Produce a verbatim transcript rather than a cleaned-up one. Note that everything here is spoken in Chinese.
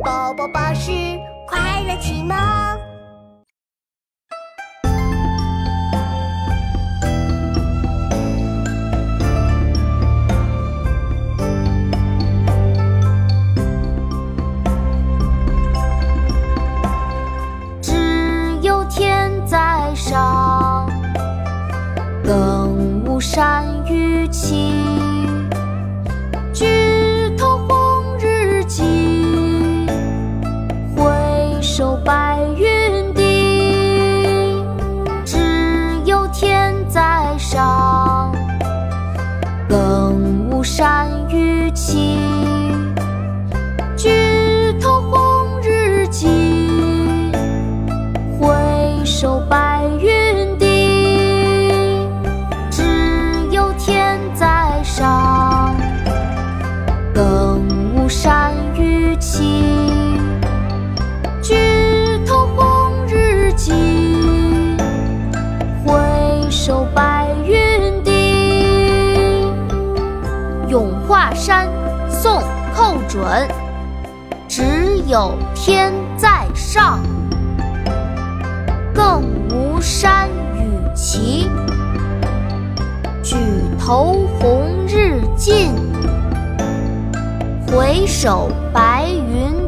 宝宝巴士快乐启蒙。 只有天在上，更无山与期。举头红日际，回首白云低。只有天在上，更无山与期。举头红日际，回首白云低。只有天在上，更无山与期。举头红日际，回首白云低。咏华山，宋·寇准。只有天在上，更无山与期。举头红日近，回首白云